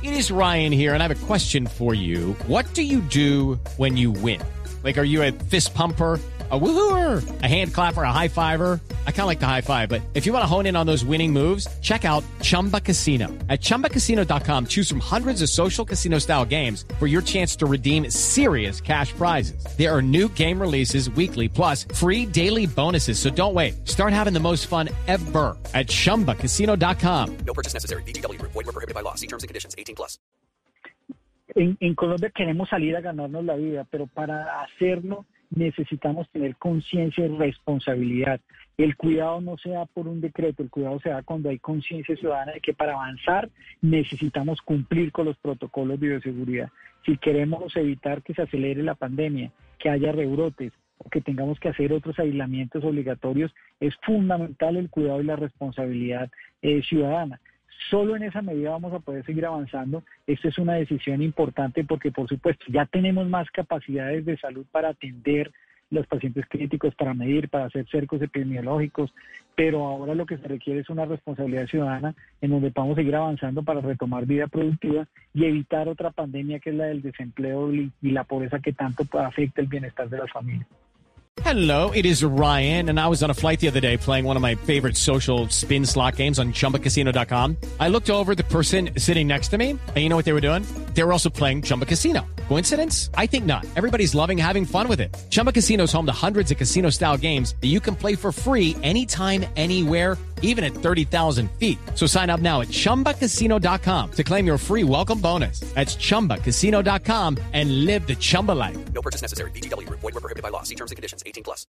It is Ryan here, and I have a question for you. What do you do when you win? Like, are you a fist pumper, a woohooer, a hand clapper, a high fiver? I kind of like the high five, but if you want to hone in on those winning moves, check out Chumba Casino. At ChumbaCasino.com, choose from hundreds of social casino-style games for your chance to redeem serious cash prizes. There are new game releases weekly, plus free daily bonuses. So don't wait. Start having the most fun ever at ChumbaCasino.com. No purchase necessary. VGW Group. Void where prohibited by law. See terms and conditions. 18+. En Colombia queremos salir a ganarnos la vida, pero para hacerlo necesitamos tener conciencia y responsabilidad. El cuidado no se da por un decreto, el cuidado se da cuando hay conciencia ciudadana de que para avanzar necesitamos cumplir con los protocolos de bioseguridad. Si queremos evitar que se acelere la pandemia, que haya rebrotes o que tengamos que hacer otros aislamientos obligatorios, es fundamental el cuidado y la responsabilidad ciudadana. Solo en esa medida vamos a poder seguir avanzando. Esta es una decisión importante porque, por supuesto, ya tenemos más capacidades de salud para atender los pacientes críticos, para medir, para hacer cercos epidemiológicos, pero ahora lo que se requiere es una responsabilidad ciudadana en donde podamos seguir avanzando para retomar vida productiva y evitar otra pandemia que es la del desempleo y la pobreza que tanto afecta el bienestar de las familias. Hello, it is Ryan, and I was on a flight the other day playing one of my favorite social spin slot games on ChumbaCasino.com. I looked over at the person sitting next to me, and you know what they were doing? They were also playing Chumba Casino. Coincidence? I think not. Everybody's loving having fun with it. Chumba Casino is home to hundreds of casino-style games that you can play for free anytime, anywhere, even at 30,000 feet. So sign up now at ChumbaCasino.com to claim your free welcome bonus. That's ChumbaCasino.com and live the Chumba life. No purchase necessary. VGW Group. Void where prohibited by law. See terms and conditions. 18+.